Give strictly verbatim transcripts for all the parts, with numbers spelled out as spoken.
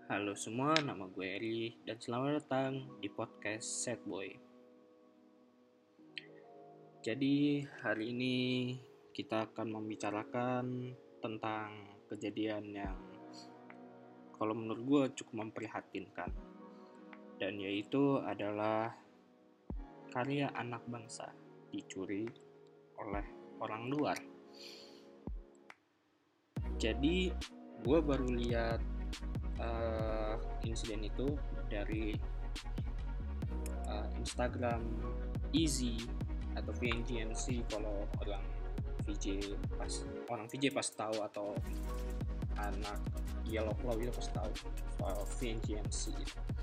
Halo semua, nama gue Eri dan selamat datang di podcast Sad Boy. Jadi hari ini kita akan membicarakan tentang kejadian yang kalau menurut gue cukup memprihatinkan, dan yaitu adalah karya anak bangsa dicuri oleh orang luar. Jadi gue baru lihat uh, insiden itu dari uh, Instagram Easy atau V N G M C. Kalau orang V J pas orang V J pas tahu, atau anak Yellow Claw itu pas tahu soal V N G M C.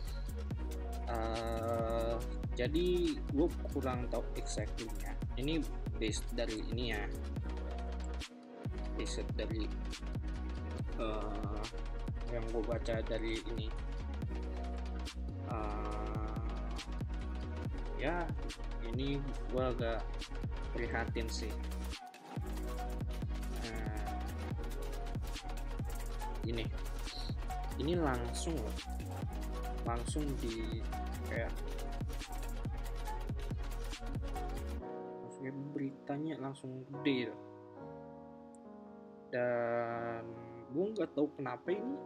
Uh, jadi gue kurang tahu exactly-nya. Ini based dari ini ya, based dari uh, yang gue baca dari ini. Uh, ya ini gue agak prihatin sih. Uh, ini ini langsung loh, langsung di kayak maksudnya beritanya langsung gede loh. Dan gue nggak tahu kenapa ini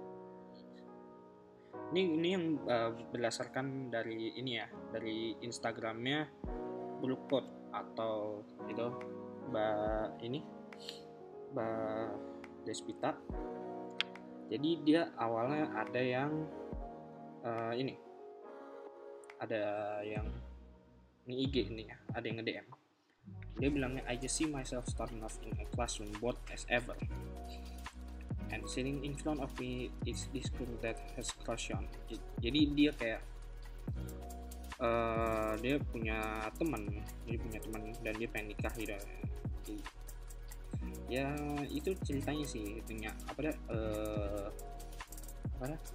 ini ini yang uh, berdasarkan dari ini ya, dari Instagramnya Brookport atau itu Mbak ini Mbak Despita. Jadi dia awalnya ada yang uh, ini ada yang ini I G ini ya, ada yang nge-D M. Dia bilangnya, I just see myself starting off in a classroom bored as ever, and sitting in front of me is this girl that has crush on. Jadi dia kayak uh, dia punya teman, dia punya teman dan dia pengen nikah gitu. Jadi, ya itu ceritanya sih, punya apa dah uh, apa dah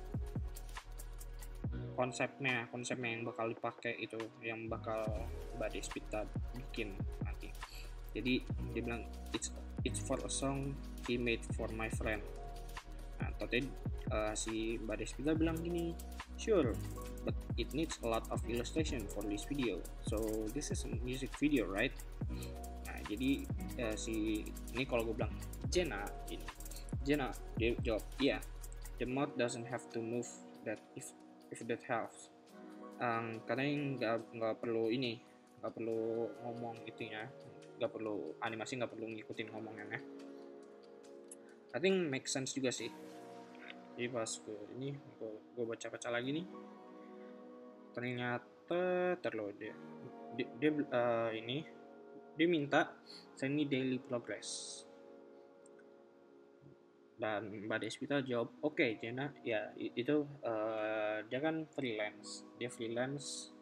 konsepnya konsepnya yang bakal dipakai itu, yang bakal Mbak Despita bikin nanti. Jadi dia bilang it's it's for a song he made for my friend. Nah, tadi uh, si Mbak Despita bilang gini, sure, but it needs a lot of illustration for this video. So this is a music video, right? Nah, jadi uh, si ini kalau gue bilang Jenna, ini Jenna dia jawab, yeah, the mouth doesn't have to move that if if that helps. Um, karena nggak nggak perlu ini, nggak perlu ngomong itunya, nggak perlu animasi, nggak perlu ngikutin ngomongannya. I think make sense juga sih. Jadi pas gue ini gue, gue baca-baca lagi nih, ternyata terlalu dia dia, dia uh, ini dia minta send me daily progress. Dan Mbak Despita jawab, oke okay, Jenna, ya itu uh, dia kan freelance, dia freelance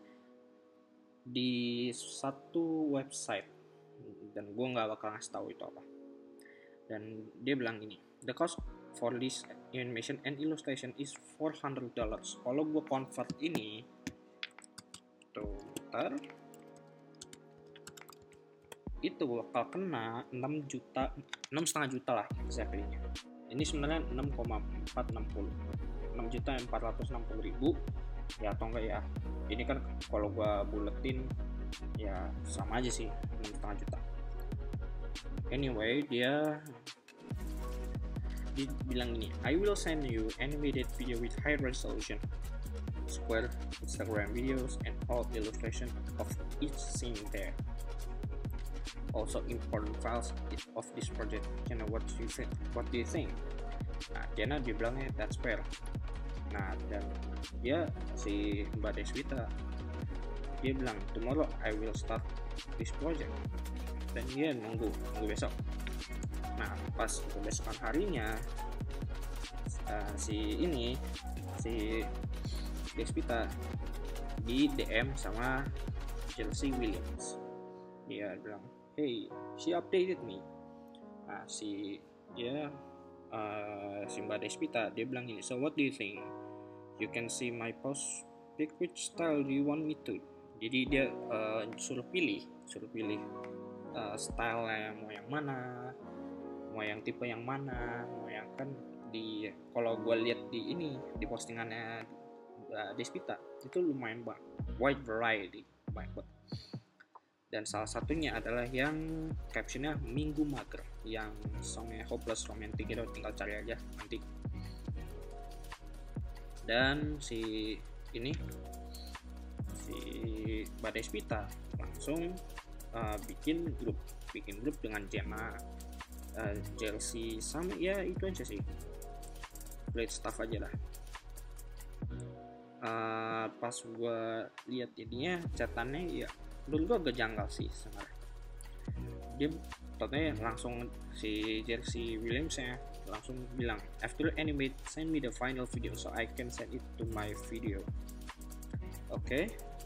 di satu website dan gue nggak bakal ngasih tahu itu apa. Dan dia bilang gini, the cost for this animation and illustration is four hundred dollars. Kalau gue convert ini tuh ntar itu bakal kena enam juta, enam setengah juta lah exactly-nya. Ini sebenarnya enam koma empat enam nol, enam juta empat ratus enam puluh ribu ya, atau enggak ya, ini kan kalau gua buletin ya sama aja sih, enam setengah juta. Anyway, dia dia bilang ini, I will send you animated video with high resolution square Instagram videos and all illustration of each scene there. Also important files of this project. Jenna, what do you think? What do you think? Nah, Jenna dia bilangnya that's fair. Nah, dan dia si Mbak Despita dia bilang tomorrow I will start this project. Dan dia nunggu nunggu besok. Nah, pas kebesokan harinya uh, si ini si Despita di D M sama Chelsea Williams. Dia bilang, hey, she updated me. Nah, si dia uh, si Mbak Despita dia bilang gini, so what do you think? You can see my post, pick which style do you want me to. Jadi dia uh, suruh pilih, suruh pilih uh, style yang mau yang mana, mau yang tipe yang mana, mau yang kan di kalau gue lihat di ini di postingannya uh, Despita itu lumayan banget, wide variety, banyak banget. Dan salah satunya adalah yang captionnya Minggu Mager, yang songnya Hopeless Romantic itu tinggal cari aja nanti. Dan si ini si Mbak Despita langsung uh, bikin grup bikin grup dengan Jenna, uh, Chelsea, sama ya itu aja sih, great stuff aja lah. Uh, pas gue lihat ininya catatannya ya menurut gue agak janggal sih sebenarnya. Dia katanya langsung si Jersey Williams ya langsung bilang, after animate send me the final video so I can send it to my video. Oke, okay.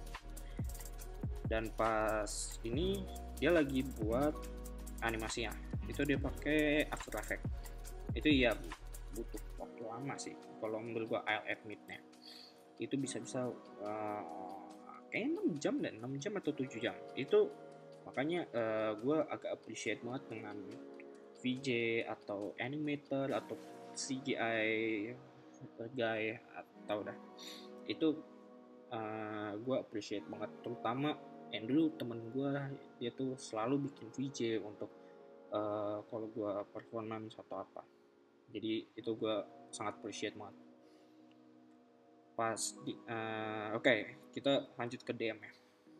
Dan pas ini dia lagi buat animasinya itu dia pakai After Effects. Itu ya butuh waktu lama sih kalau menurut gua, I'll admit-nya. Itu bisa-bisa uh, kayaknya enam jam dan enam jam atau tujuh jam. Itu makanya uh, gue agak appreciate banget dengan V J atau animator atau C G I guy atau dah itu uh, gue appreciate banget, terutama yang dulu temen gue dia tuh selalu bikin V J untuk uh, kalau gue performance atau apa, jadi itu gue sangat appreciate banget. Pas di uh, oke okay, kita lanjut ke D M ya.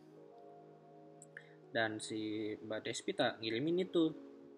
Dan si Mbak Despita ngirimin itu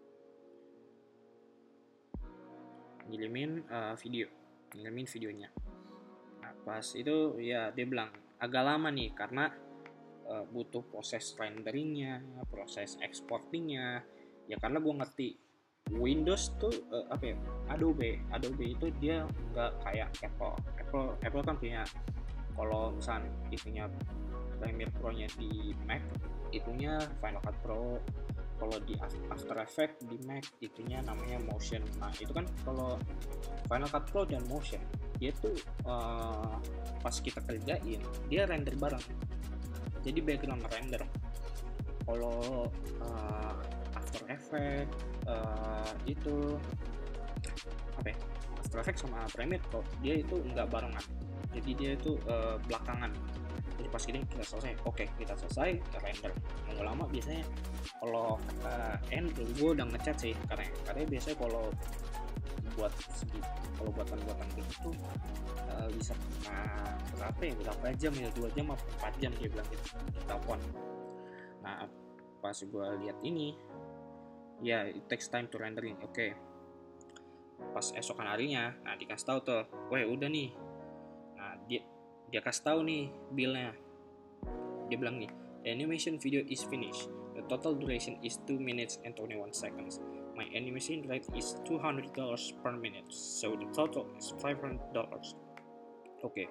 ngirimin uh, video ngirimin videonya. Nah, pas itu ya dia bilang agak lama nih karena uh, butuh proses renderingnya, proses exportingnya ya, karena gue ngerti Windows tuh uh, apa ya, Adobe Adobe itu dia nggak kayak Apple Apple Apple kan punya, kalau misalnya itunya Premiere Pro-nya di Mac itunya Final Cut Pro, kalau di After Effects di Mac itunya namanya Motion. Nah itu kan kalau Final Cut Pro dan Motion dia tuh uh, pas kita kerjain dia render bareng, jadi background render. Kalau uh, After Effects uh, itu apa ya, After Effects sama Premiere Pro dia itu nggak barengan, jadi dia itu uh, belakangan. Jadi pas ini kita selesai, oke okay, kita selesai kita render. Nggak lama biasanya. Kalau uh, Andrew gue udah ngecat sih, karena karena biasanya kalau buat segi kalau buatan-buatan gitu uh, bisa nah, berapa ya berapa jam ya, dua jam atau empat jam dia bilang gitu di telepon. Nah pas gue lihat ini ya yeah, it takes time to rendering. Oke okay. Pas esokan harinya nah dikasih tahu tuh, weh udah nih. Nah dia dia kasih tahu nih billnya, dia bilang nih, the animation video is finished, the total duration is two minutes and twenty-one seconds, my animation rate is two hundred dollars per minute, so the total is five hundred dollars. Oke okay.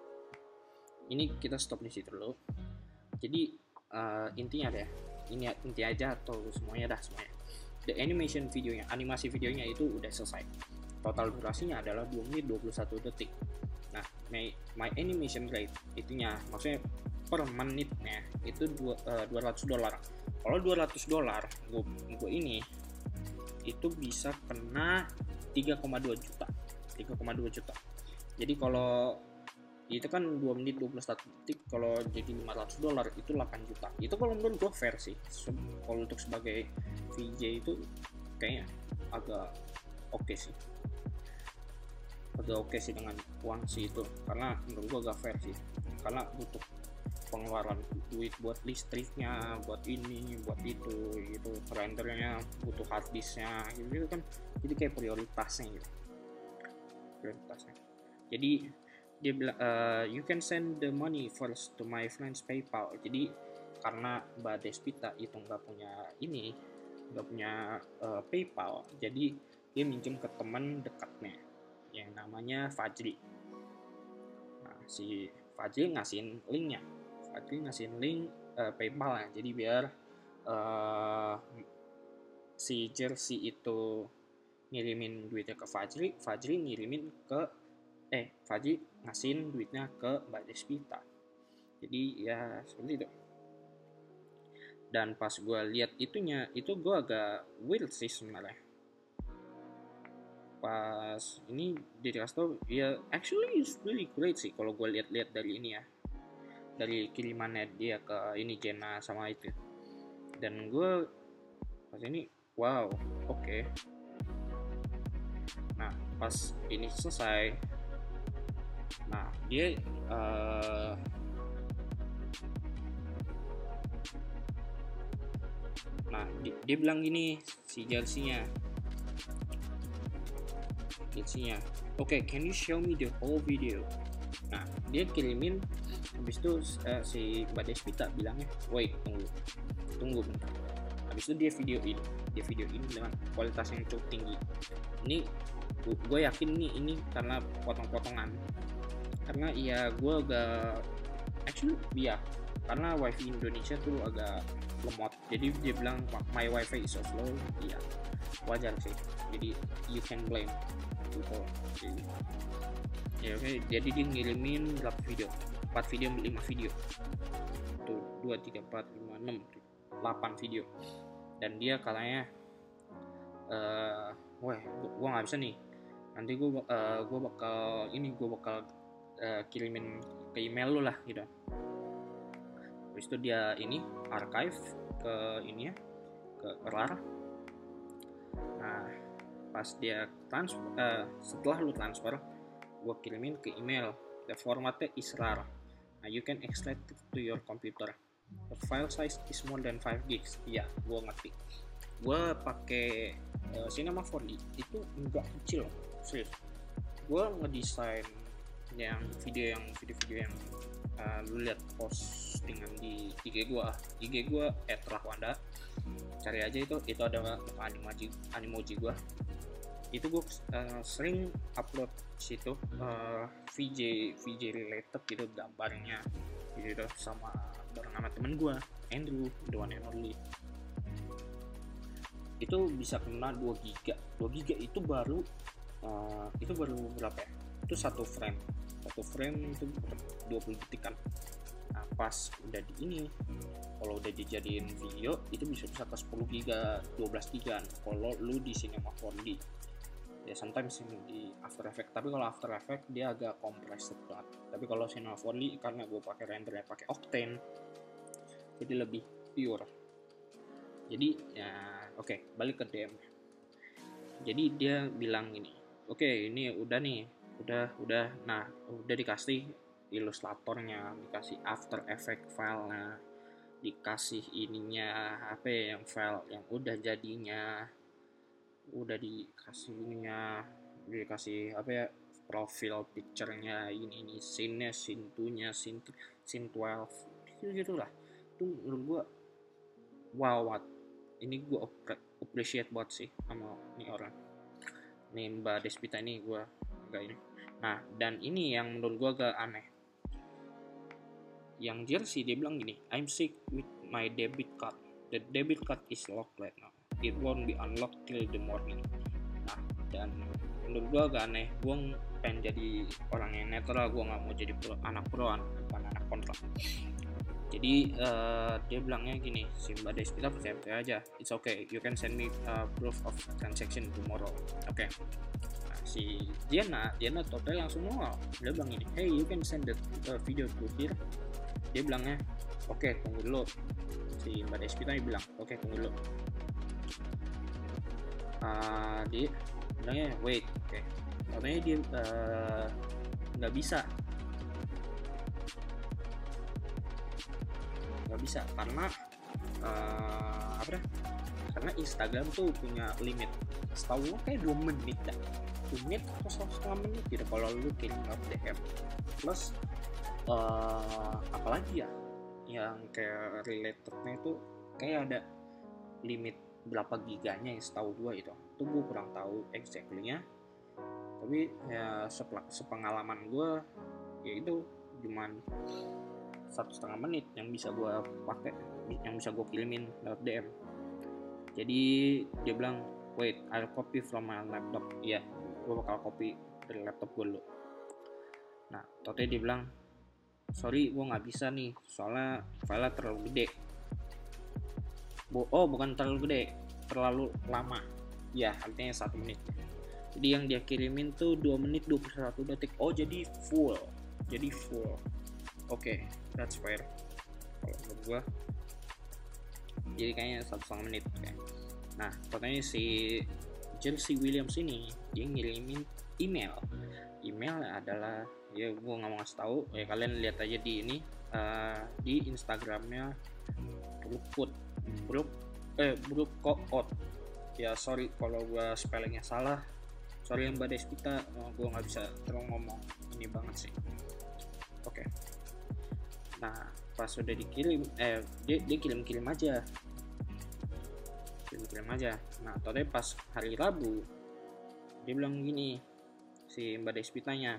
Ini kita stop di situ dulu. Jadi uh, intinya deh, ini inti aja atau semuanya dah semuanya. The animation videonya, animasi videonya itu udah selesai. Total durasinya adalah dua menit dua puluh satu detik. Nah, my, my animation rate itunya maksudnya per menitnya itu dua ratus dolar. Kalau dua ratus dolar, gue gue ini itu bisa kena tiga koma dua juta. tiga koma dua juta. Jadi kalau itu kan dua menit dua puluh satu detik, kalau jadi lima ratus dolar itu delapan juta. Itu kalau menurut gue fair sih. Kalau untuk sebagai V J itu kayaknya agak oke okay sih. Agak oke okay sih dengan uang sih itu, karena menurut gue agak fair sih, karena butuh pengeluaran duit buat listriknya, buat ini, buat itu, gitu, rendernya butuh hard disknya, gitu kan, jadi kayak prioritasnya gitu, prioritasnya. Jadi dia bilang uh, you can send the money first to my friend's PayPal. Jadi karena Mbak Despita itu nggak punya ini, nggak punya uh, PayPal, jadi dia minjem ke teman dekatnya yang namanya Fajri. Nah, si Fajri ngasihin linknya, Fajri ngasihin link uh, PayPal ya. Jadi biar uh, si Jersey itu ngirimin duitnya ke Fajri, Fajri ngirimin ke eh Fajri ngasihin duitnya ke Mbak Despita. Jadi ya seperti itu. Dan pas gue lihat itunya, itu gue agak weird sih sebenarnya. pas ini dia dikasih tau ya, actually it's really great sih kalau gue lihat-lihat dari ini ya, dari kirimannya dia ke ini Jenna sama itu, dan gue pas ini wow oke okay. Nah pas ini selesai, nah dia uh, nah dia, dia bilang gini si jersey-nya jersey-nya oke okay, can you show me the whole video. Nah dia kirimin, habis itu uh, si Mbak Despita bilangnya wait tunggu tunggu bentar, habis itu dia videoin dia videoin dengan kualitas yang cukup tinggi. Ini gue yakin nih ini karena potong-potongan, karena ya gue agak actually ya karena wifi Indonesia tuh agak lemot, jadi dia bilang my wifi is so slow. Iya wajar sih, jadi you can blame gitu. Jadi, ya oke okay. Jadi dia ngirimin berapa video, empat video, lima video tuh, dua, tiga, empat, lima, enam, delapan video, dan dia kalanya uh, wah gue nggak bisa nih, nanti gue uh, gue bakal ini gue bakal uh, kirimin ke email lu lah gitu. Habis itu dia ini archive ke ini ya, ke RAR. Nah pas dia transfer, uh, setelah lu transfer gue kirimin ke email, the formatnya is RAR. Nah you can extract it to your computer. The file size is more than five gigs. Iya, gue ngerti. Gue pakai uh, Cinema four D itu enggak kecil, serius. Gue ngedesain yang video yang video-video yang uh, lu lihat postingan di I G gue, I G gue @rahwanda. Cari aja itu, itu ada animoji animoji gue. Itu gue uh, sering upload situ uh, V J V J related gitu, gambarnya gitu sama bareng sama temen gue Andrew, the one and only. Itu bisa kena dua giga. dua giga itu baru uh, itu baru berapa ya? Itu satu frame. Satu frame itu dua puluh detikan. Nah, pas udah di ini, kalau udah dijadiin video itu bisa bisa ke sepuluh giga, dua belas giga kalau lu di Cinema four D. Ya sometimes di After Effects, tapi kalau After Effects dia agak compressed banget. Tapi kalau Cinema four D karena gue pakai rendernya pakai Octane, jadi lebih pure. Jadi ya oke okay, balik ke D M. Jadi dia bilang ini, oke okay, ini udah nih, udah udah, nah udah dikasih ilustratornya, dikasih After Effects filenya, dikasih ininya apa ya, yang file yang udah jadinya, udah dikasih ininya, dikasih apa ya, profile picture-nya, ini ini scene-nya, scene two-nya, scene scene twelve gitu gitulah. Itu menurut gua wow, what ini gua appreciate banget sih sama nih orang nih Mbak Despita ini, gua agak ini. Nah dan ini yang menurut gua agak aneh, yang jersey dia bilang gini, I'm sick with my debit card, the debit card is locked right now, it won't be unlocked till the morning. Nah dan menurut gue agak aneh, gue pengen jadi orang yang netral, gue nggak mau jadi pro, anak proan bukan anak kontra. Jadi uh, dia bilangnya gini, si Mbak Despita percaya percaya aja, it's okay, you can send me uh, proof of transaction tomorrow. Oke okay. Nah, si Diana Diana total langsung ngomong, dia bilang gini, hey you can send the uh, video to here. Dia bilangnya oke okay, tunggu dulu. Si Mbak Despita bilang oke okay, tunggu dulu. Uh, dia bilangnya wait, oke okay. Katanya dia nggak uh, bisa nggak bisa karena uh, apa dah? Karena Instagram tuh punya limit, setahu kayak dua menit dah, dua menit atau setengah menit gitu kalau lu kirim D M. Plus uh, apalagi ya yang kayak relatednya itu kayak ada limit berapa giganya yang setahu gua itu. Itu gua kurang tahu exactly-nya. Tapi ya sepengalaman gue ya itu cuman satu setengah menit yang bisa gue pakai, yang bisa gue kirimin lewat D M. Jadi dia bilang wait, I'll copy from my laptop. Iya, gue bakal copy dari laptop gue dulu. Nah totalnya dia bilang sorry gue nggak bisa nih soalnya filenya terlalu gede. Oh bukan terlalu gede, terlalu lama. Ya artinya satu menit. Jadi yang dia kirimin tuh dua menit dua puluh satu detik. Oh, jadi full. Jadi full. Oke, okay, that's fair. Kalau menurut gua. Jadi kayaknya satu setengah menit kayak. Nah, katanya si Chelsea Williams ini dia ngirimin email. Email adalah, ya gua nggak mau ngasih tahu. Ya kalian lihat aja di ini uh, di Instagramnya Brookwood. Brook eh Brook Out. Ya sorry kalau gua spellingnya salah. Sorry yang Mbak Despita, oh, gue nggak bisa terlalu ngomong ini banget sih. Oke. Okay. Nah, pas udah dikirim, eh dia, dia kirim-kirim aja, kirim-kirim aja. Nah, tadi pas hari Rabu, dia bilang gini, si Mbak Despitanya,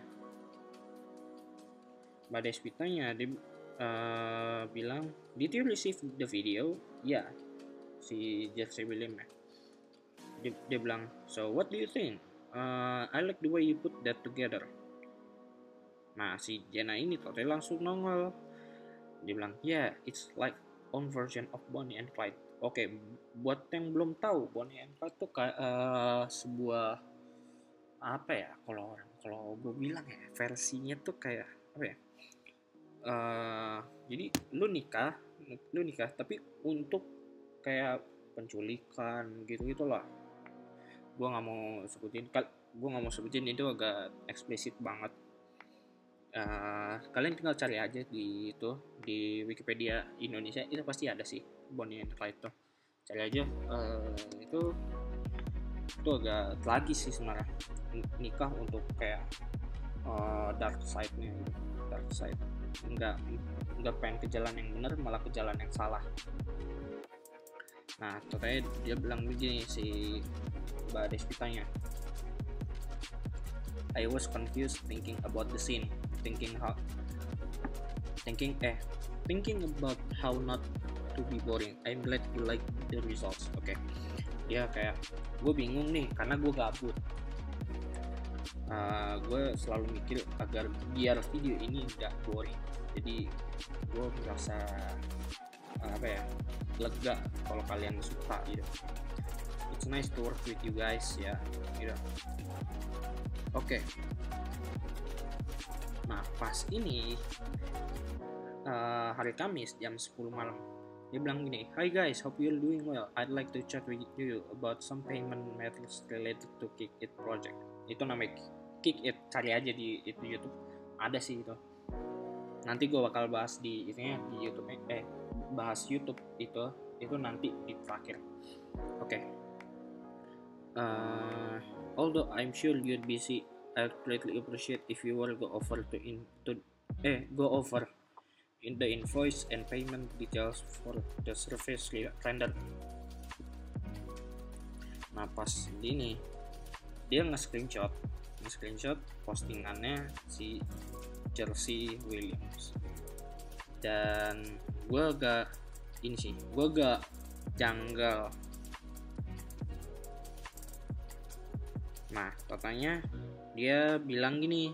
Mbak Despitanya dia uh, bilang, did you receive the video? Ya, yeah. Si Jersey William ya. Dia, dia bilang, so what do you think? Uh, I like the way you put that together. Nah, si Jenna ini tuh dia langsung nongol. Dia bilang, yeah, it's like own version of Bonnie and Clyde. Oke, okay, buat yang belum tahu, Bonnie and Clyde tuh kayak uh, sebuah apa ya? Kalau orang kalau gue bilang ya, versinya tuh kayak apa ya? Uh, jadi lu nikah, lu nikah, tapi untuk kayak penculikan gitu-gitu lah. Gue nggak mau sebutin, gue nggak mau sebutin itu agak eksplisit banget. Uh, kalian tinggal cari aja di itu di Wikipedia Indonesia, itu pasti ada sih Bonnie and Clyde tuh. Cari aja, uh, itu itu agak tragis sih sebenarnya, nikah untuk kayak uh, dark side-nya, dark side, nggak nggak pengen ke jalan yang benar, malah ke jalan yang salah. Nah, katanya dia bilang begini si Mbak Despitanya, I was confused thinking about the scene, thinking how, thinking eh, thinking about how not to be boring. I'm glad you like the results. Oke, okay. Dia kayak, gue bingung nih karena gue gabut. Uh, gue selalu mikir agar biar video ini nggak boring. Jadi gue merasa uh, apa ya, lega kalau kalian suka gitu. It's nice to work with you guys ya, gitu. Oke. Okay. Nah, pas ini uh, hari Kamis jam sepuluh malam, dia bilang gini, hi guys, hope you're doing well. I'd like to chat with you about some payment methods related to Kick It project. Itu namanya Kick It, cari aja di itu YouTube, ada sih itu. Nanti gue bakal bahas di itunya di YouTube, eh bahas YouTube itu itu nanti di terakhir. Oke. Okay. Uh, although I'm sure you'd busy, I'd greatly appreciate if you were go over to in to eh go over in the invoice and payment details for the service rendered. Nah, pas ini dia nge-screenshot nge-screenshot postingannya si Chelsea Williams, dan gue agak ini sih, gue agak janggal. Nah, katanya dia bilang gini,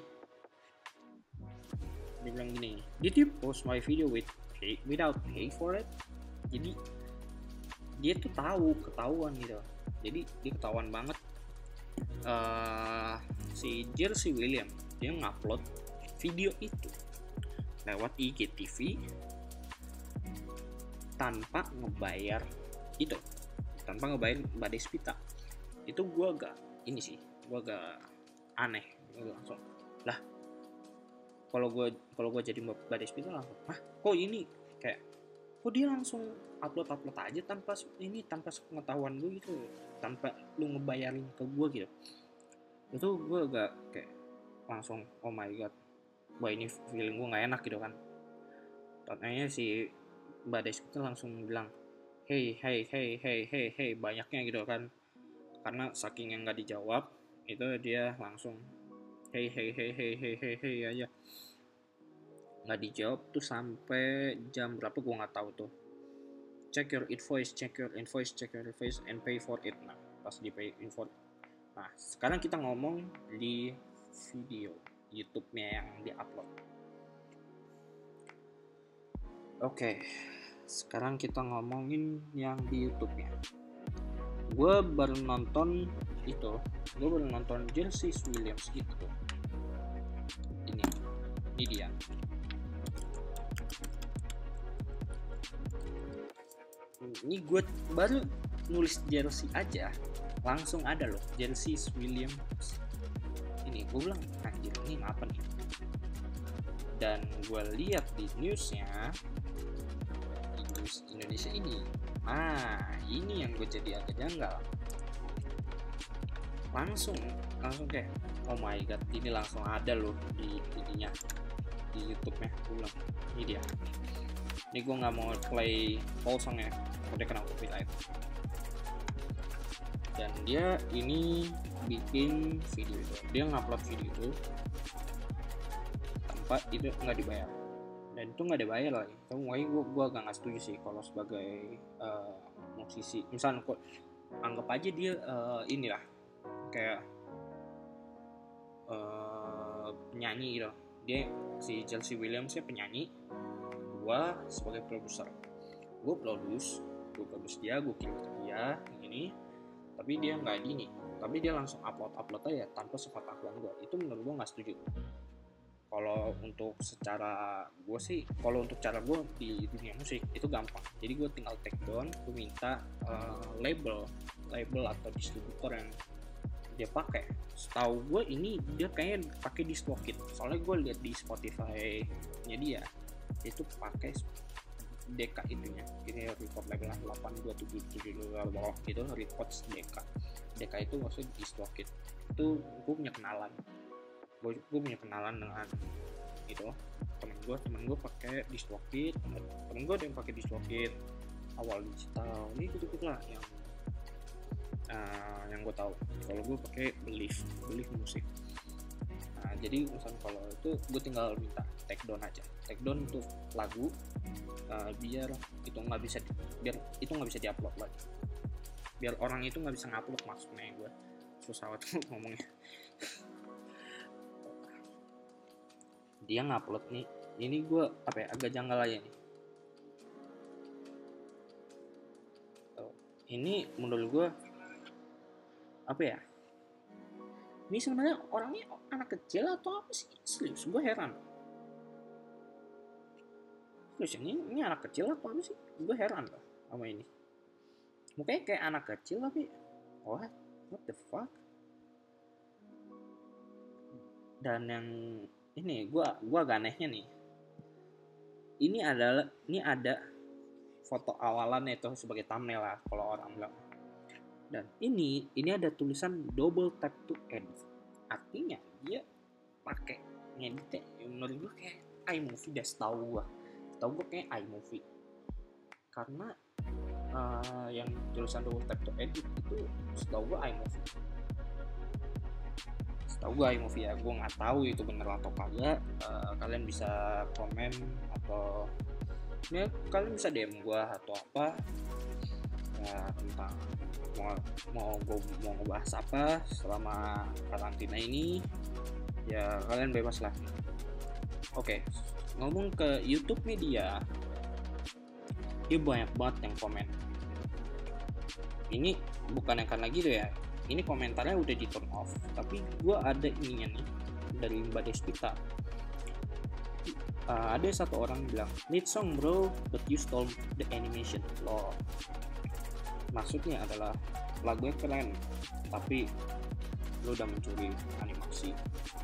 dia bilang gini, did you post my video with pay, without pay for it? Jadi dia tuh tahu, ketahuan gitu. Jadi dia ketahuan banget. Uh, si Jersey William dia ngupload video itu lewat I G T V tanpa ngebayar itu, tanpa ngebayar Mbak Despita. Itu gue agak ini sih, gue agak aneh. Gue langsung lah, kalau gue kalau gue jadi Mbak Despita langsung, ah kok ini kayak kok dia langsung upload upload aja tanpa ini, tanpa pengetahuan gue gitu, tanpa lu ngebayarin ke gue gitu. Itu gue agak kayak langsung oh my god, wah ini feeling gue nggak enak gitu kan. Katanya si Mbak Despita langsung bilang hey hey hey hey hey hey banyaknya gitu kan, karena saking yang nggak dijawab itu dia langsung hey hey hey hey hey hey hey aja, nggak dijawab tuh sampai jam berapa gue nggak tahu tuh. Check your invoice, check your invoice, check your invoice and pay for it. Nah, pas di pay invoice. Nah, sekarang kita ngomong di video YouTube-nya yang di-upload. Oke, sekarang kita ngomongin yang di YouTube-nya. Gue baru nonton itu gue baru nonton Chelsea Williams itu. Ini, ini dia. Ini gue baru nulis jersey aja, langsung ada loh Chelsea Williams. Ini gue bilang anjir ini apa nih? Dan gue lihat di newsnya, di news Indonesia ini, nah ini yang gue jadi agak janggal. Langsung, langsung kayak oh my god, ini langsung ada loh di ininya, di YouTube-nya. Gue bilang ini dia. Ini gue nggak mau play full songnya, udah kena copyright. Dan dia ini bikin video itu, dia ngupload video itu tanpa itu nggak dibayar, dan itu nggak dibayar lagi. Tapi makanya gue gue agak nggak setuju sih kalau sebagai uh, musisi. Misalnya kok anggap aja dia uh, inilah kayak uh, penyanyi gitu, dia si Chelsea Williams ya penyanyi, gue sebagai produser, gue produce, gue produce dia, gue kirim ke dia ini, tapi dia nggak gini, tapi dia langsung upload upload aja tanpa sepengetahuan gue. Itu menurut gue nggak setuju. Kalau untuk secara gue sih, kalau untuk cara gue di dunia musik itu gampang. Jadi gue tinggal take down, gue minta uh, label, label atau distributor yang dia pakai. Setahu gue ini dia kayaknya pakai DistroKid. Soalnya gue lihat di Spotify-nya dia itu pakai D K itunya. Ini record label delapan dua tujuh tujuh dua gitu, record D K. D K itu maksudnya DistroKid. Itu gue punya kenalan. gue gue punya kenalan dengan itu temen gue temen gue pakai DistroKid, temen gue ada yang pakai DistroKid awal digital ini gitu gitu lah yang uh, yang gue tahu. Kalau gue pakai Believe Believe musik. Nah jadi misalnya kalau itu gue tinggal minta take down aja, take down untuk lagu uh, biar itu nggak bisa di, biar itu nggak bisa diupload lagi, biar orang itu nggak bisa ngupload. Maksudnya gue susah banget ngomongnya. Dia ngupload nih, ini gue apa ya agak janggal aja nih. Oh, ini menurut gue apa ya? Ini sebenarnya orangnya anak kecil atau apa sih? Serius, gue heran. Serius, ini, ini anak kecil atau apa sih? Gue heran loh sama ini. Mukanya kayak anak kecil tapi what? What the fuck? Dan yang ini gua gua agak anehnya nih. Ini adalah ini ada foto awalannya itu sebagai thumbnail lah kalau orang bilang. Dan ini ini ada tulisan double tap to edit. Artinya dia pakai ngedit menurut gua kayak iMovie dah, setahu gua. Setahu gua kayak iMovie. Karena uh, yang tulisan double tap to edit itu setahu gua iMovie. Tahu gue iMovie ya, gue nggak tahu itu bener atau kagak. Uh, kalian bisa komen atau ya kalian bisa D M gue atau apa ya tentang mau mau gue mau ngebahas apa selama karantina ini, ya kalian bebas lah. Oke, ngomong ke YouTube media, dia banyak banget yang komen. Ini bukan yang karena gitu ya, ini komentarnya udah di turn off, tapi gue ada ininya nih dari Mbak Despita. Uh, ada satu orang bilang need song bro, but you stole the animation. Loh, maksudnya adalah lagunya keren, tapi lo udah mencuri animasi.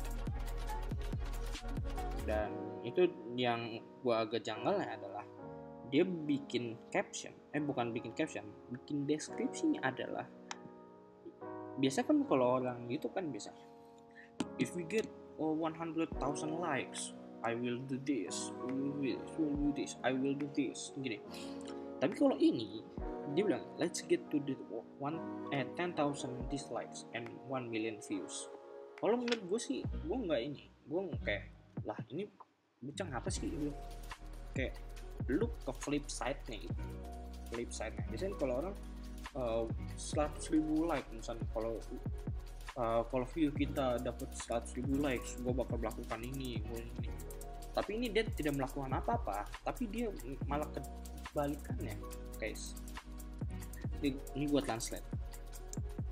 Dan itu yang gue agak janggalnya adalah dia bikin caption, eh bukan bikin caption, bikin deskripsinya adalah biasa kan kalau orang YouTube kan biasa if we get oh, one hundred thousand likes I will do this, will do this, will do this, I will do this gini. Tapi kalau ini dia bilang let's get to the one eh ten thousand dislikes and one million views. Kalau menurut gue sih gue nggak ini, gue kayak lah ini bocah apa sih gitu. Kayak look ke flip side nya gitu, flip side nya biasanya kalau orang Uh, seratus ribu like misalnya, kalau uh, kalau video kita dapat seratus ribu likes gue bakal melakukan ini, ini tapi ini dia tidak melakukan apa-apa, tapi dia malah kebalikannya guys. Ini, ini gue translate.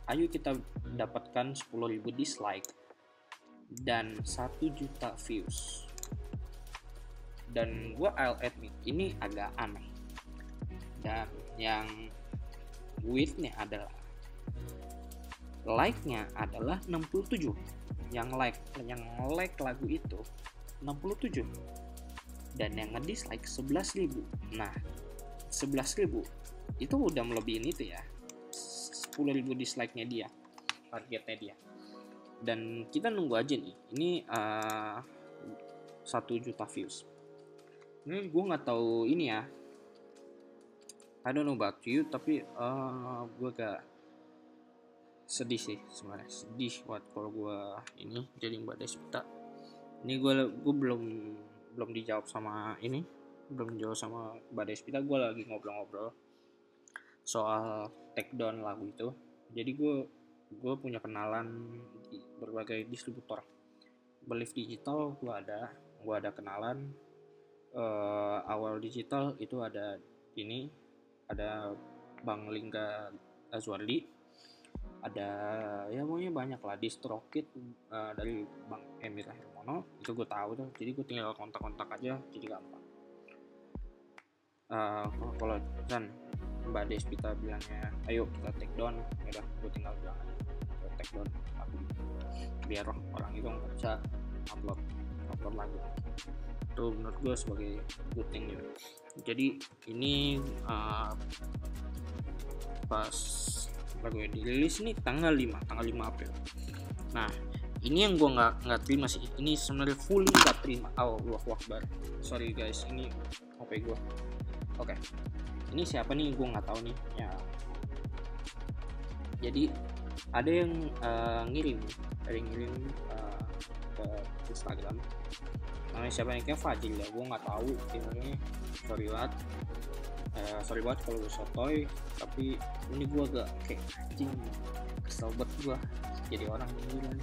ayo kita dapatkan sepuluh ribu dislike dan satu juta views. Dan gue I'll admit ini agak aneh. Dan yang weirdnya adalah like-nya adalah enam puluh tujuh. Yang like yang like lagu itu enam puluh tujuh. Dan yang nge-dislike sebelas ribu. Nah, sebelas ribu itu udah melebihin itu ya. sepuluh ribu dislike-nya dia. Targetnya dia. Dan kita nunggu aja nih. Ini uh, satu juta views. Ini gue nggak tahu ini ya. I don't know about you, tapi uh, gue agak sedih sih sebenarnya. Sedih buat kalau gue ini jadi Mbak Despita. Ini gue gue belum belum dijawab sama ini, belum dijawab sama Mbak Despita. Gue lagi ngobrol-ngobrol soal take down lagu itu. Jadi gue gue punya kenalan di berbagai distributor. Belief Digital gue ada, gue ada kenalan. Uh, awal digital itu ada ini, ada Bang Lingga Azwardi, ada ya pokoknya banyak lah. Distrokit uh, dari Bang Emir Hermono itu gue tahu tuh. Jadi gue tinggal kontak-kontak aja, jadi gampang. Uh, kalau kan Mbak Despita bilangnya ayo kita take down, ya udah gue tinggal bilang aja kita take down lagu biar orang itu nggak bisa upload upload lagu. Itu menurut gue sebagai good thing gitu. Jadi ini uh, pas lagu yang dirilis ini tanggal lima April. Nah ini yang gue nggak nggak terima sih. Ini sebenarnya fully nggak terima. Oh, Allahu Akbar. Sorry guys, ini H P gue. Oke, okay. Ini siapa nih? Gue nggak tahu nih. Ya. Jadi ada yang uh, ngirim, ada yang ngirim uh, ke Instagram. Namanya siapa nih? Kayak Fajil ya. Gue nggak tahu. Ini sorry banget. Uh, sorry banget kalau gue sotoy. Tapi ini gue agak kayak anjing. Kesel banget gue jadi orang ini.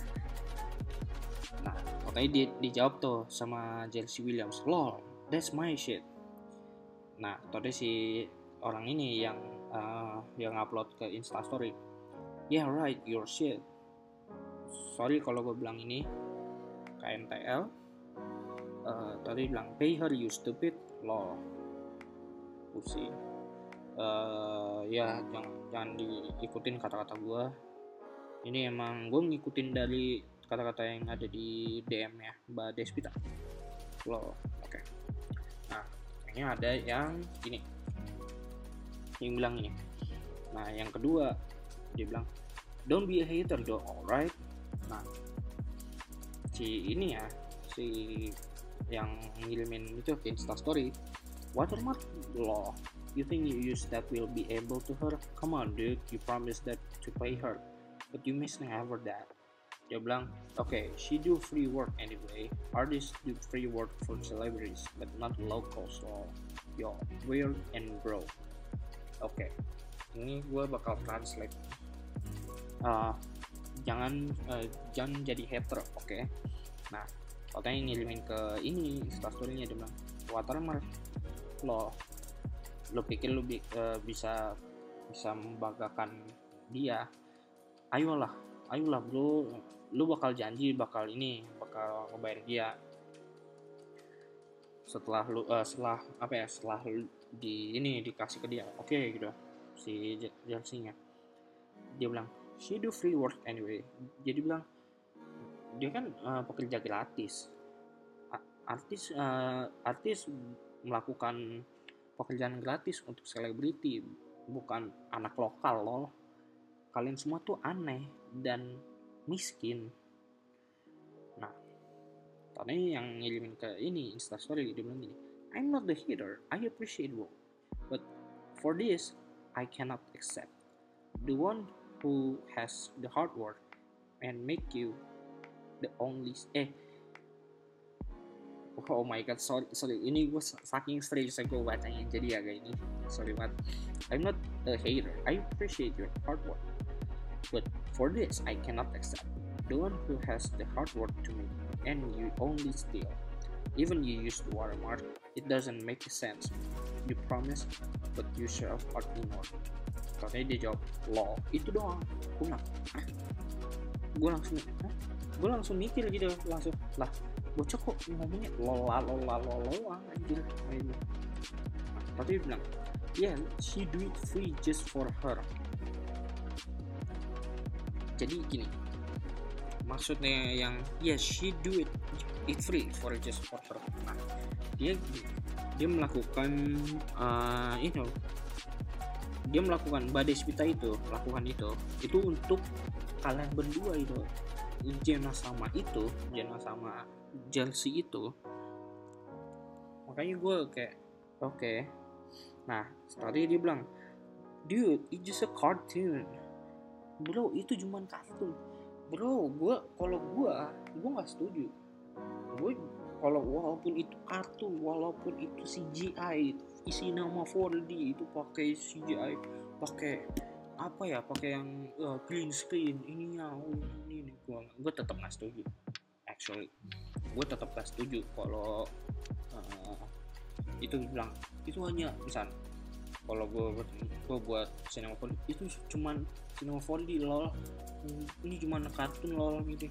Nah, makanya dia dijawab tuh sama Chelsea Williams. Lol, that's my shit. Nah, tadi si orang ini yang uh, yang upload ke Instastory. Yeah right, your shit. Sorry kalau gue bilang ini K N T L. Uh, tadi bilang pay her you stupid. Lol. Pusing. Uh, ya jangan jangan diikutin kata-kata gue. Ini emang gue ngikutin dari kata-kata yang ada di D M ya Mbak Despita. Lol. Oke. Okay. Nah, ini ada yang ini yang bilang ini. Nah yang kedua dia bilang don't be a hater though, alright. Nah si ini ya si yang ngirimin itu ke Instastory watermark. Loh, you think you use that will be able to her? Come on dude, you promised that to pay her but you miss never that. Dia bilang, okay, she do free work anyway. Artists do free work for celebrities, but not locals. So, yo, weird and bro. Oke, okay. Ini gue bakal translate. Uh, jangan, uh, jangan jadi hater, oke? Okay? Nah, katanya ngirimin ke ini Instastory-nya dia bilang, watermark, lo, lo pikir lo bi- uh, bisa bisa membanggakan dia? Ayolah, ayolah bro. Lu bakal janji bakal ini bakal ngebayar dia setelah lu uh, setelah apa ya setelah lu di ini dikasih ke dia. Oke okay, gitu si Chelsea-nya. Dia bilang she do free work anyway. Jadi bilang dia kan uh, pekerja gratis. Artis uh, artis melakukan pekerjaan gratis untuk selebriti, bukan anak lokal loh. Kalian semua tuh aneh dan miskin. Nah, tadi yang ngirimin ke ini Instastory dia bilang gini, I'm not the hater, I appreciate work, but for this I cannot accept. The one who has the hard work and make you the only eh oh my god sorry sorry ini gue saking strange saya gue bacanya jadi agak ini sorry banget. I'm not a hater, I appreciate your hard work, but for this, I cannot accept. The one who has the hard work to make and you only steal. Even you use the watermark, it doesn't make sense. You promise, but you show up more. Katanya dia jawab lol, itu doang. Gue bilang, gue langsung gue langsung mikir gitu, langsung lah bocah kok ngomongnya lola lola lola anjir. Nah, tapi dia bilang yeah, she do it free just for her. Jadi gini, maksudnya yang yes, she do it it free for just for her. Nah, dia dia melakukan uh, you know, dia melakukan Mbak Deswita itu melakukan itu itu untuk kalian berdua itu, Jenna sama itu, Jenna sama Chelsea itu. Makanya gue kayak oke. Okay. Nah, tadi dia bilang, dude, it's just a cartoon. Bro, itu cuma kartun. Bro, gue kalau gue gue nggak setuju. Gue kalau walaupun itu kartun, walaupun itu C G I, isi nama four D itu pakai C G I, pakai apa ya, pakai yang uh, green screen ininya, oh, ini nih gue gue tetap nggak setuju. Actually, gue tetap nggak setuju kalau uh, itu bilang itu hanya misal kalau gue gue buat cinema four D itu cuman cinema four D lol, ini cuman kartun lol gitu.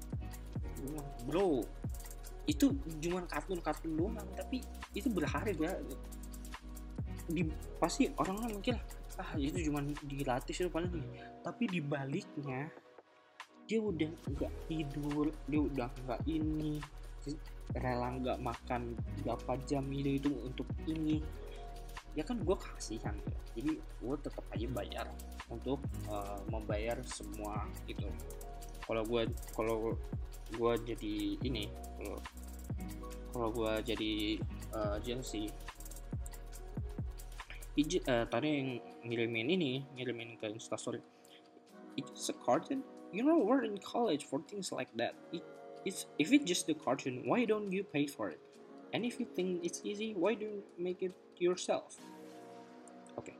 Bro, itu cuman kartun-kartun doang, tapi itu berharga. Di, pasti orang-orang mikir ah itu cuma digratis itu paling nih, tapi dibaliknya dia udah nggak tidur, dia udah nggak ini, rela nggak makan berapa jam ini itu untuk ini, ya kan gue kasihan ya. Jadi gue tetap aja bayar untuk uh, membayar semua itu. Kalau gue kalau gue jadi ini, kalau kalau gue jadi uh, Chelsea, Ij, uh, tadi yang ngirimin ini, ngirimin ke Instastory, it's a cartoon. You know, we're in college for things like that. It, it's if it's just the cartoon, why don't you pay for it? And if you think it's easy, why don't you make it yourself? Oke. Okay.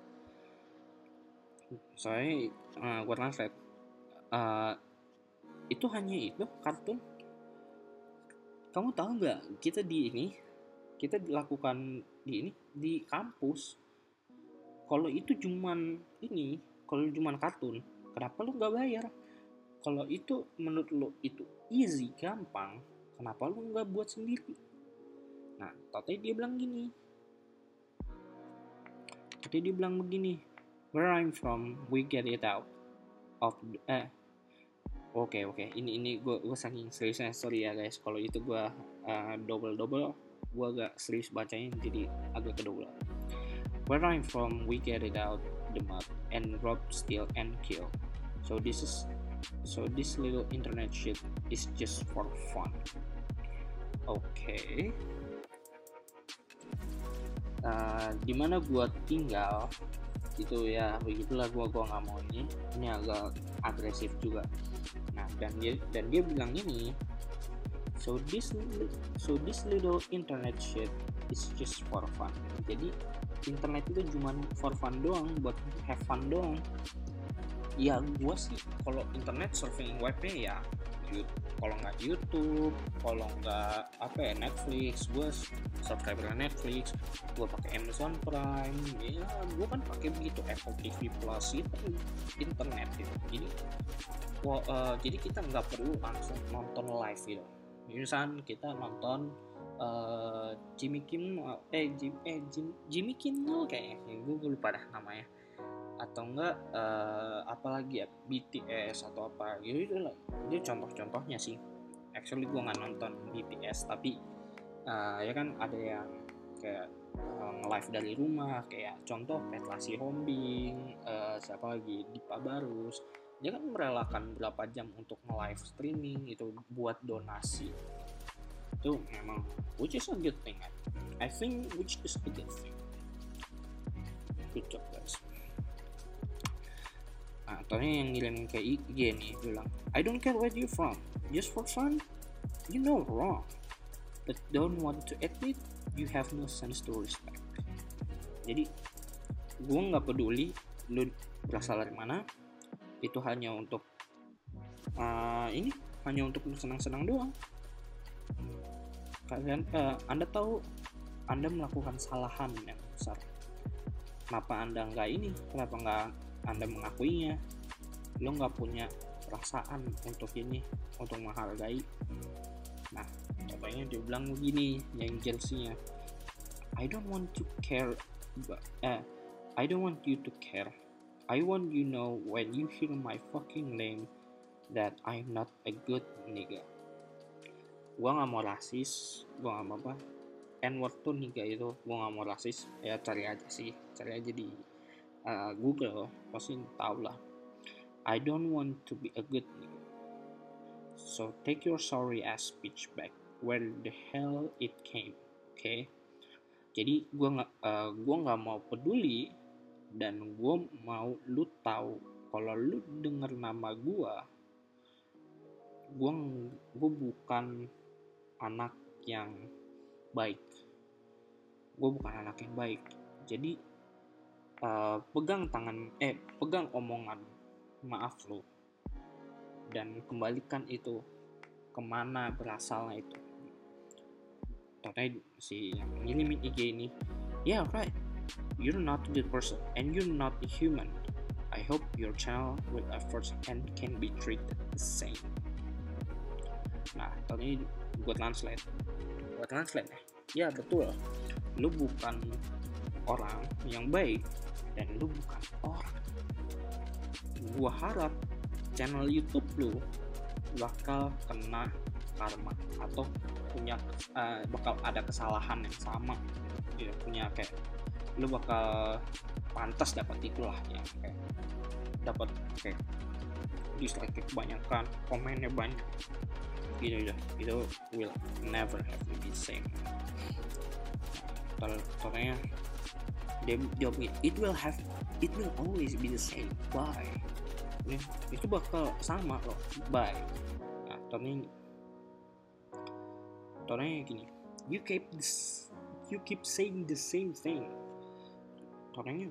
Saya uh, gue translate. Uh, itu hanya itu kartun. Kamu tahu nggak? Kita di ini, kita dilakukan di ini di kampus. Kalau itu cuman ini, kalau cuman kartun, kenapa lu nggak bayar? Kalau itu menurut lu itu easy, gampang, kenapa lu nggak buat sendiri? Nah, tadi dia bilang gini. Tadi dia bilang begini. Where I'm from, we get it out of the, eh. Oke okay, oke, okay. ini ini gue gue saking seriusnya, sorry ya guys. Kalau itu gue uh, double double, gue agak serius bacanya jadi agak kedouble. Where I'm from, we get it out the mud and rob, steal, and kill. So this is, so this little internet shit is just for fun. Oke. Okay. Uh, dimana gua tinggal, itu ya begitulah, gua gua nggak mau ini, ini agak agresif juga. Nah, dan dia dan dia bilang ini. So this so this little internet shit is just for fun. Jadi internet itu cuma for fun doang, buat have fun doang. Ya gue sih kalau internet surfing webnya ya kalau nggak YouTube, kalau nggak apa ya Netflix, gue subscriber Netflix, gue pakai Amazon Prime, ya gue kan pakai begitu, Apple T V Plus itu internet gitu. Jadi well, uh, jadi kita nggak perlu langsung nonton live gitu. Misalnya kita nonton Uh, Jimmy Kimmel eh Jim eh Jim, Jimmy Kimmel kayaknya, gue lupa dah namanya, atau enggak uh, apalagi ya B T S atau apa gitu, itu lah itu contoh-contohnya sih. Actually gue nggak nonton B T S, tapi uh, ya kan ada yang kayak uh, nge-live dari rumah, kayak contoh Petra Sihombing, uh, siapa lagi Dipa Barus, dia kan merelakan berapa jam untuk nge-live streaming itu buat donasi. Itu memang which is a good thing. I think which is a good thing. Good job guys. Nah, tadi yang ngirim ke I G nih bilang, I don't care where you from, just for fun, you know wrong, but don't want to admit you have no sense to respect. Jadi gue nggak peduli lu berasal dari mana, itu hanya untuk uh, ini hanya untuk senang-senang doang. Kalian, uh, Anda tahu Anda melakukan kesalahan yang besar. Kenapa Anda nggak ini? Kenapa nggak Anda mengakuinya, lo nggak punya perasaan untuk ini, untuk menghargai. Nah, contohnya dia bilang begini, yang jersey-nya, I don't want to care, but, uh, I don't want you to care. I want you know when you hear my fucking name that I'm not a good nigga. Gua nggak mau rasis, gua nggak mau apa. N-word tuh nigga itu, gua nggak mau rasis. Ya cari aja sih, cari aja di uh, Google, pasti tahu lah. I don't want to be a good nigga. So take your sorry ass speech back. Where the hell it came, okay? Jadi gue nggak, uh, gue nggak mau peduli, dan gue mau lu tahu kalau lu denger nama gue, gue gue bukan anak yang baik, gue bukan anak yang baik. Jadi uh, pegang tangan, eh pegang omongan maaf lu, dan kembalikan itu kemana berasalnya itu. Contohnya si yang ngirimin I G ini, yeah right, you're not a good person and you're not a human. I hope your channel with efforts and can be treated the same. Nah, tadi gue translate, gue translate ya, ya betul, lu bukan orang yang baik dan lu bukan orang. Gue harap channel YouTube lu bakal kena karma atau punya uh, bakal ada kesalahan yang sama, ya, punya kayak lu bakal pantas dapat itulah ya, kayak dapat kayak dislike kebanyakan, komennya banyak gitu ya, itu will never have to be same. Contohnya dia jawab, it will have it will always be the same, bye. Ya, itu bakal sama loh, bye. Nah, contohnya Contohnya gini, you keep this, you keep saying the same thing. Contohnya,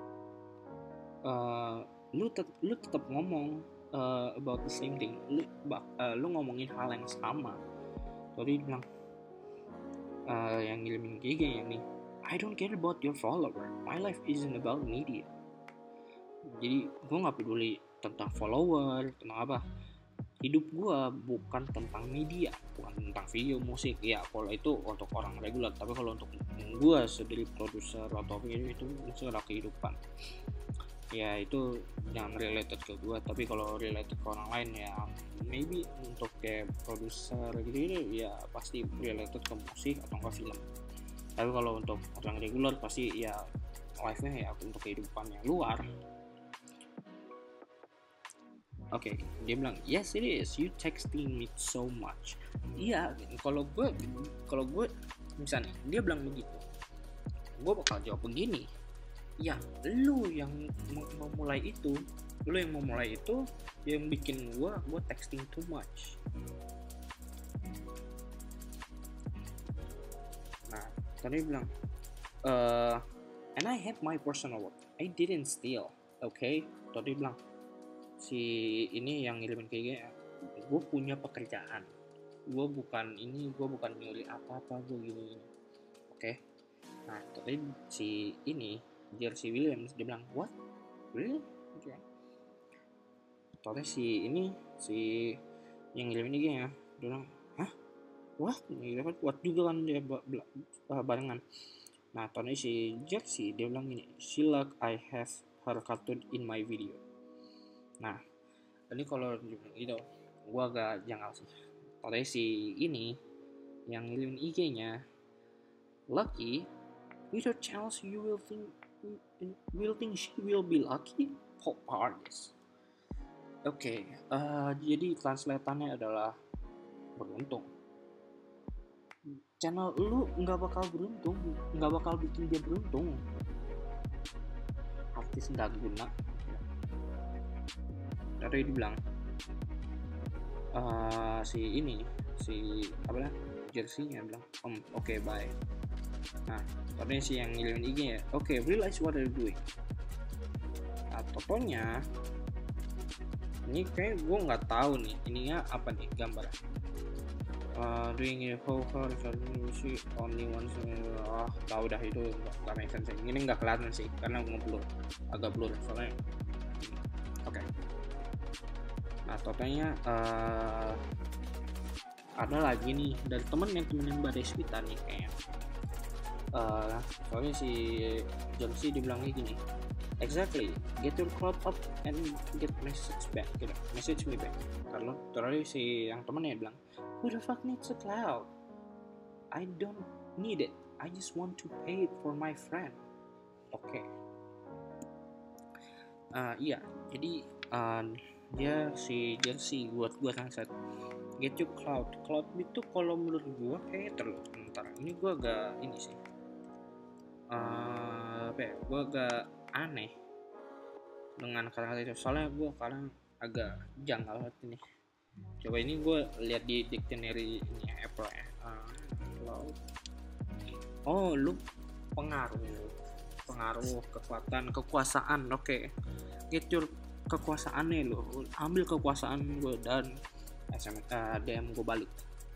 uh, lu tet, lu tetap ngomong uh, about the same thing. Lu, uh, lu ngomongin hal yang sama. Tadi bilang, uh, yang ngirimin G G yang nih, I don't care about your follower. My life isn't about media. Jadi gue nggak peduli tentang follower, tentang apa. Hidup gue bukan tentang media, bukan tentang video, musik. Ya kalau itu untuk orang reguler, tapi kalau untuk gue sebagai produser atau ini, itu itu adalah kehidupan. Ya itu yang related ke gue, tapi kalau related ke orang lain ya maybe untuk kayak produser gitu, ya pasti related ke musik atau enggak film. Tapi kalau untuk orang reguler pasti ya live-nya ya untuk kehidupan yang luar. Oke, okay, dia bilang, yes it is, you texting me so much. Iya, kalau gue, kalau gue misalnya dia bilang begitu, gue bakal jawab begini, ya lu yang memulai itu, lu yang memulai itu, yang bikin gue, gue texting too much. Nah, tadi dia bilang, uh, and I have my personal work, I didn't steal, okay? Tadi dia bilang, si ini yang ngirimin kayak gini, gue punya pekerjaan, gue bukan ini, gue bukan nyuri apa-apa, gue gini, oke? Okay? Nah, tapi si ini Jersey Williams dia bilang, what? Really? Okay. Terus si ini si yang ngirimin ini ya, dia bilang, hah? What? Dapat what juga kan dia barengan. Nah, terus si Jersey dia bilang gini, she like I have her cartoon in my video. Nah, ini kalau gitu, gue agak janggal sih. Kalau si ini yang ngirimin I G-nya, lucky, with your channels you will think, will think she will be lucky pop artist. Oke, okay, uh, jadi translatannya adalah beruntung. Channel lu nggak bakal beruntung, nggak bakal bikin dia beruntung. Artis nggak guna. Tadi dibilang uh, si ini si apa ya jersey-nya bilang om oke okay, bye. Nah tadi si yang ngirimin I G ya, oke okay, realize what are you doing. Nah totonya ini kayak gue nggak tahu nih ininya apa nih gambar uh, doing it how hard see only one ah oh, tahu dah itu nggak make sense. Ini nggak kelihatan sih karena ngeblur, agak blur soalnya Oke. Okay. Nah totalnya uh, ada lagi nih dari temennya temen Mbak Deswita nih kayaknya. Uh, soalnya si Johnsi dibilangnya gini, exactly, get your cloud up and get message back, gitu, message me back. Kalau terus si yang temennya bilang, who the fuck needs a cloud? I don't need it. I just want to pay it for my friend. Oke. Okay. Uh, iya, jadi uh, dia si Jersey buat gua translate get your cloud. Cloud itu kalau menurut gua kayak terlalu bentar. Ini gua agak ini sih. Uh, apa ya? Gua agak aneh dengan kata-kata itu. Soalnya gua kadang agak janggal banget ini. Coba ini gua lihat di dictionary ini Apple ya. Uh, cloud. Oh, lu pengaruh, pengaruh, kekuatan, kekuasaan. Oke, okay. Get your kekuasaannya lo, ambil kekuasaan gue dan S M S, uh, D M gue balik.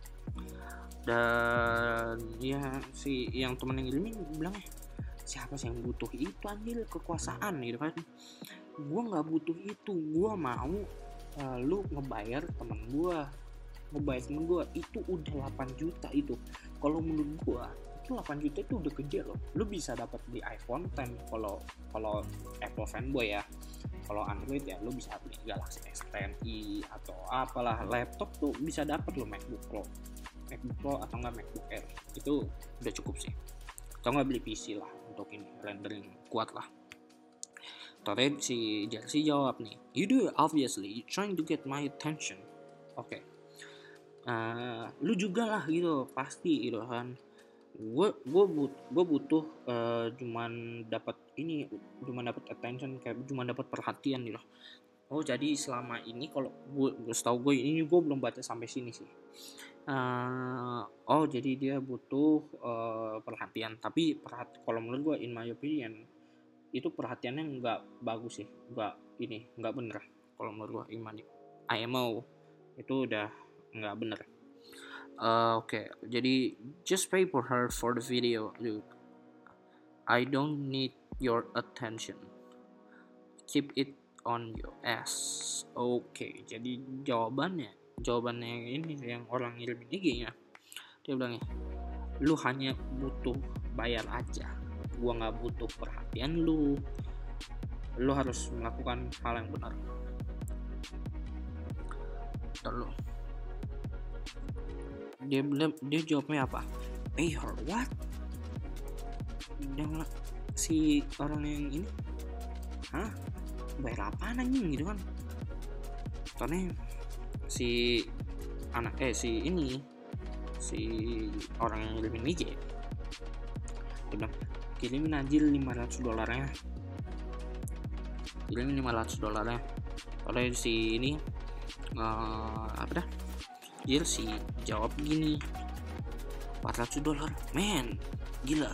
Dan ya si yang temen yang ngirimin bilang, siapa sih yang butuh itu, ambil kekuasaan gitu kan. Gue nggak butuh itu, gue mau uh, lu ngebayar temen gue, ngebayar temen gue itu udah delapan juta itu. Kalau menurut gue itu delapan juta itu udah gede loh. Lu bisa dapat di iPhone X kalau kalau Apple fanboy ya. Kalau Android ya lu bisa beli Galaxy S ten i atau apalah, laptop tuh bisa dapat lo MacBook Pro. MacBook Pro atau enggak MacBook Air. Itu udah cukup sih. Atau enggak beli P C lah untuk ini rendering kuat lah. Terus si Jersey jawab nih, you do obviously you trying to get my attention. Oke. Okay. Uh, lu juga lah gitu pasti gitu kan. gue gue but, gue butuh uh, cuman dapat ini cuman dapat attention, kayak cuman dapat perhatian gitu. Oh jadi selama ini kalau gue gue tahu gue ini gue belum baca sampai sini sih. Uh, oh jadi dia butuh uh, perhatian, tapi perhati, kalau menurut gue in my opinion itu perhatiannya nggak bagus sih, nggak ini nggak bener. Kalau menurut gue in I M O itu udah nggak bener. Uh, Oke, okay. Jadi just pay for her for the video, dude. I don't need your attention. Keep it on your ass. Oke, okay. Jadi jawabannya, jawabannya ini yang orang ngirim I G-nya. Dia bilangnya, lu hanya butuh bayar aja. Gua nggak butuh perhatian lu. Lu harus melakukan hal yang benar. Terus dia dia jawabnya apa? Pay her what? Dan si orang yang ini, hah? Bayar apaan anjing gitu kan? Soalnya si anak eh si ini si orang yang ngirimin I G dia bilang kirimin aja lima ratus dolarnya, kirimin lima ratus dolarnya. Oleh si ini uh, apa dah? Jersey jawab gini, empat ratus dolar, men, gila.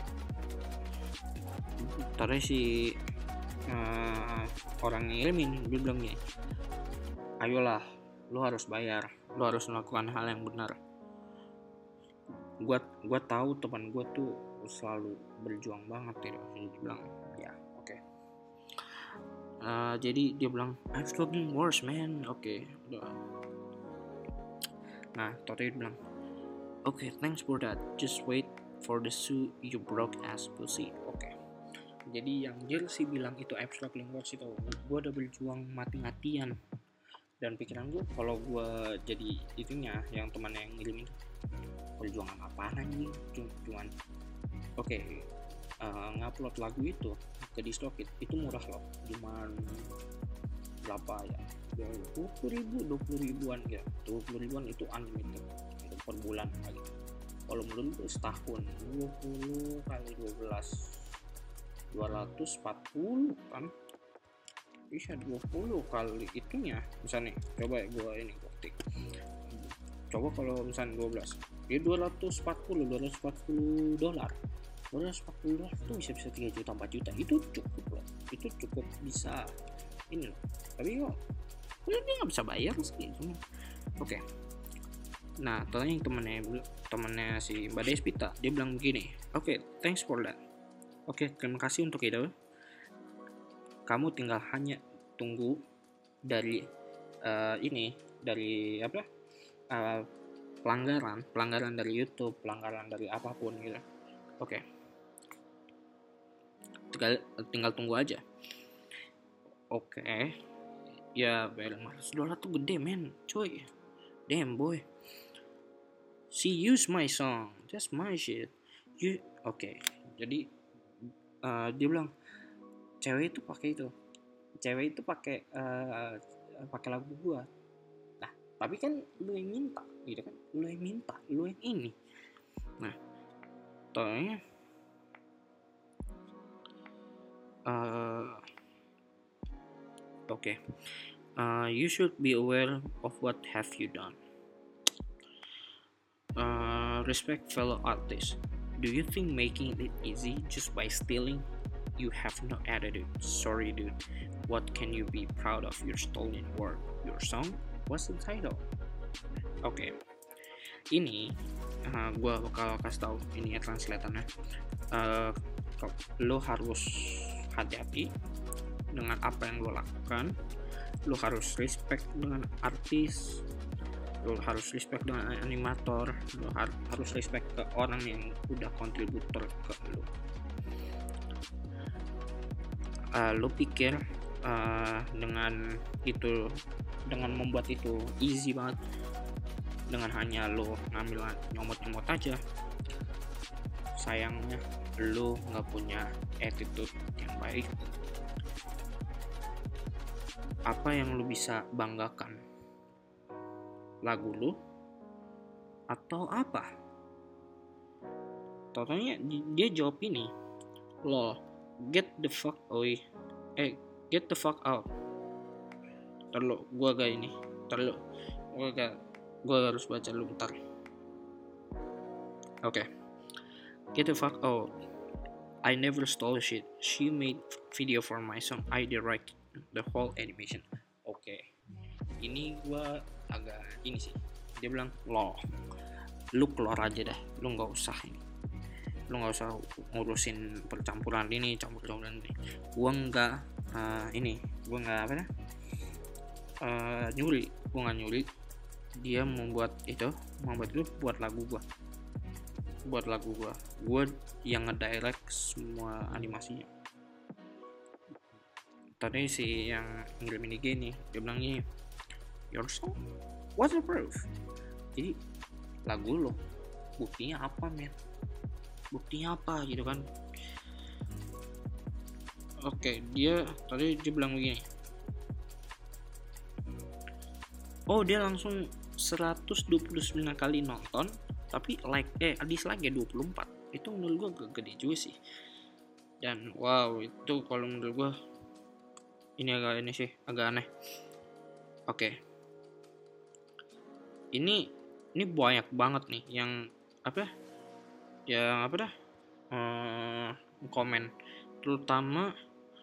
Terus si uh, orang ngirimin dia bilang gini, ayolah, lu harus bayar, lu harus melakukan hal yang benar. Gua gua tahu teman gua tuh selalu berjuang banget, gitu. Dia bilang, ya, oke. Okay. Uh, jadi dia bilang, I'm struggling worse, man. Oke, okay, udah. Nah, Toto bilang, oke, okay, thanks for that. Just wait for the shoe you broke ass pussy. Oke. Okay. Jadi yang Jersey bilang itu I'm struggling worse itu, gue udah berjuang mati-matian. Dan pikiran gue, kalau gue jadi itunya, yang teman yang ngirim itu, berjuang apaan anjing? Cuman, oke, okay, uh, ngupload lagu itu ke DistroKid itu murah loh, cuman berapa ya? dua puluh ribu, dua puluh ribuan ya, dua puluh ribuan itu unlimited itu per bulan gitu. Kalau menurut gue setahun dua puluh kali dua belas dua ratus empat puluh kan bisa dua puluh kali itunya misalnya. Coba ya gue ini ketik, coba kalau misalnya dua belas ya dua ratus empat puluh dua ratus empat puluh dolar dua ratus empat puluh dolar itu bisa bisa tiga juta empat juta, itu cukup loh, itu cukup bisa ini loh. Tapi kok dia nggak bisa bayar sih gitu. Oke. Okay. Nah, ternyata yang temennya temennya si Mbak Deswita dia bilang begini, oke, okay, thanks for that. Oke, okay, terima kasih untuk itu. Kamu tinggal hanya tunggu dari uh, ini dari apa uh, pelanggaran pelanggaran dari YouTube, pelanggaran dari apapun gitu. Oke, tinggal tinggal tunggu aja. Oke, ya bayar lima ratus dolar tuh gede men, coy. Damn boy, she use my song, that's my shit. You oke, okay. Jadi uh, dia bilang cewek itu pakai itu, cewek itu pakai uh, pakai lagu gua. Nah, tapi kan lu yang minta, gitu kan? Lu yang minta, lu yang ini. Nah, tohnya uh, oke, okay. uh, you should be aware of what have you done. Uh, respect fellow artists. Do you think making it easy just by stealing? You have no attitude. Sorry dude. What can you be proud of your stolen work? Your song? What's the title? Oke, okay. Ini uh, gue bakal kasih tahu ini ya translatornya. Uh, lo harus hati-hati dengan apa yang lo lakukan. Lo harus respect dengan artis. Lo harus respect dengan animator. Lo har- harus respect ke orang yang udah kontributor ke lo. Uh, lo pikir uh, dengan itu, dengan membuat itu easy banget, dengan hanya lo ngambil nyomot-nyomot aja. Sayangnya lo nggak punya attitude yang baik. Apa yang lo bisa banggakan? Lagu lo atau apa? Totalnya dia jawab ini, lol, get the fuck away, eh get the fuck out. Terlalu gua gak ini, terlalu gua gak, gua harus baca dulu bentar. Oke, okay. Get the fuck out. I never stole shit. She made video for my song. I direct the whole animation. Oke, okay. Ini gua agak ini sih. Dia bilang, lo, lu keluar aja dah, lu nggak usah ini, lu nggak usah ngurusin percampuran ini, campur-campuran ini. Gua nggak uh, ini, gua nggak apa ya, uh, nyuri, gua nggak nyuri. Dia membuat itu, membuat itu buat lagu gua, buat lagu gua, gua yang ngedirect semua animasinya. Tadi si yang ngirim ini gini, dia bilang gini, your song, what's the proof? Jadi lagu lo, buktinya apa men? Buktinya apa gitu kan? Oke, dia tadi dia bilang begini. Oh, dia langsung seratus dua puluh sembilan kali nonton, tapi like eh dislike-nya dua puluh empat. Itu menurut gua gede juga sih. Dan wow, itu kalau menurut gua ini agak ini sih, agak aneh. Oke. Ini ini banyak banget nih yang apa? Yang apa dah? Hmm, komen, terutama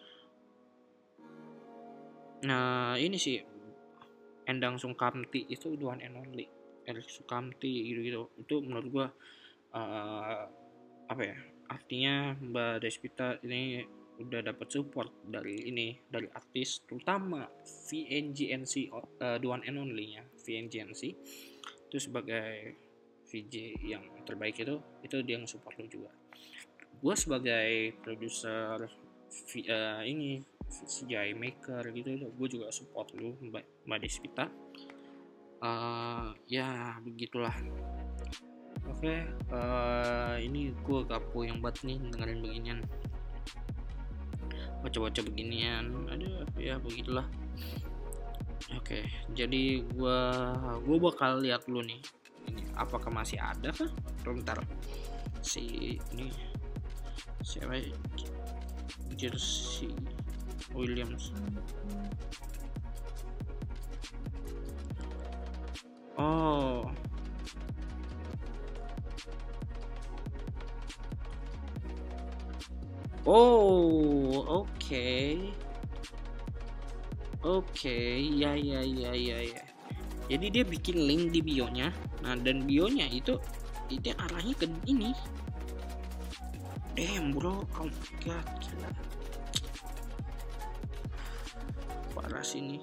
nah ini sih Endang Sukamti, itu the one and only Endang Sukamti gitu-gitu. Itu menurut gua uh, apa ya, artinya Mbak Despita ini udah dapat support dari ini, dari artis, terutama V N G N C, uh, the one and only nya V N G N C itu sebagai V J yang terbaik, itu itu dia yang support lu juga. Gue sebagai produser uh, ini C G I maker gitu, gue juga support lu Mbak, Mbak Despita. Uh, ya begitulah. Oke, okay, uh, ini gue kapu yang buat nih dengerin beginian, baca-baca beginian, aduh ya begitulah. Oke, okay, jadi gue gue bakal lihat dulu nih, ini apakah masih ada kah? Bentar, si ini siapa? Jersey Williams. Oh, oh, oke. Okay. Oke, okay, ya ya ya ya ya. Jadi dia bikin link di bio-nya. Nah, dan bio-nya itu itu arahnya ke ini. Damn, bro. Oh my god, gila. keras ini.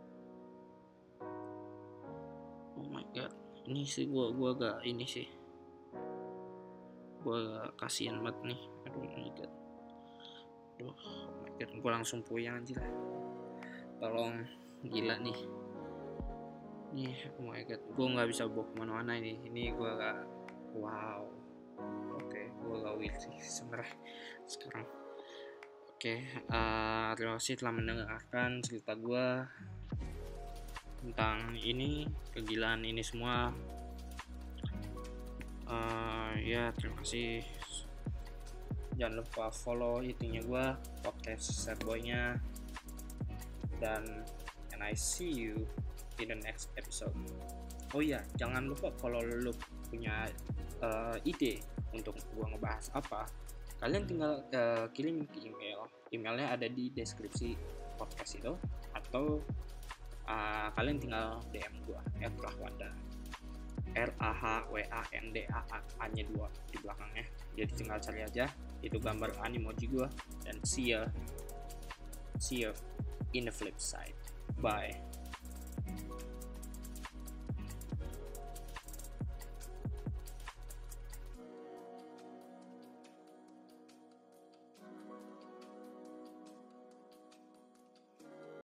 Oh my god, ini sih gua gua agak ini sih, gua agak kasihan banget nih. Aduh my god, aduh oh my god, gua langsung puyeng aja lah. Tolong, gila nih. Nih, oh my god, gua nggak bisa bawa kemana-mana ini. Ini gua agak wow. Oke, okay, gua agak weird sih sebenarnya sekarang. Oke, okay, uh, terima kasih telah mendengarkan cerita gua tentang ini, kegilaan ini semua. Uh, ya terima kasih. Jangan lupa follow itunya gue, podcast Sad Boy-nya, dan and I see you in the next episode. Oh iya, jangan lupa kalau lu punya uh, ide untuk gue ngebahas apa, kalian tinggal uh, kirim ke email. Emailnya ada di deskripsi podcast itu, atau Uh, kalian tinggal D M gue at Rahwanda, R A H W A N D A A nya dua di belakangnya. Jadi tinggal cari aja itu gambar animoji gue, dan see ya see ya in the flip side. Bye.